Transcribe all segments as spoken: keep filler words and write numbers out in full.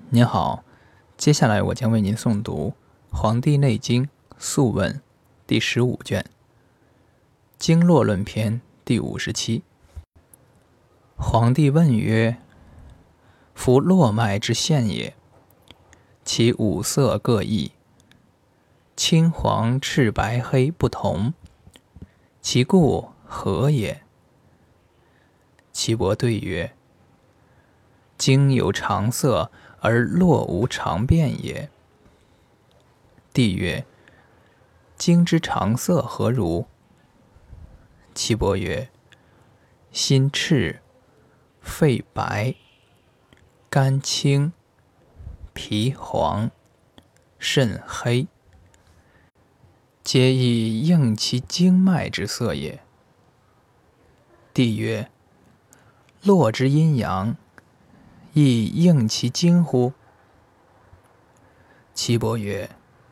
您好，接下来我将为您诵读《黄帝内经·素问》第十五卷《经络论篇》第五十七。黄帝问曰：夫络脉之线也，其五色各异，青黄赤白黑不同，其故何也？岐伯对曰：经有常色，而络无常变也。帝曰：经之常色何如？岐伯曰：心赤，肺白，肝青，脾黄，肾黑，皆以应其经脉之色也。帝曰：络之阴阳，亦应其经乎？岐伯曰：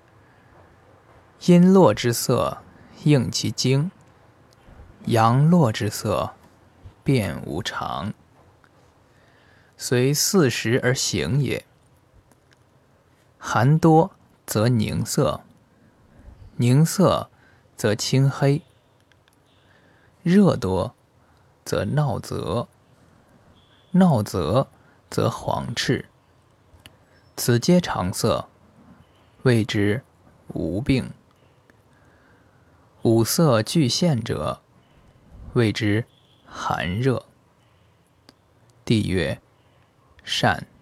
阴络之色应其经，阳络之色变无常，随四时而行也。寒多则凝色，凝色则青黑；热多则闹泽，闹泽则黄赤。此皆常色，谓之无病。五色俱现者，谓之寒热。帝曰：善。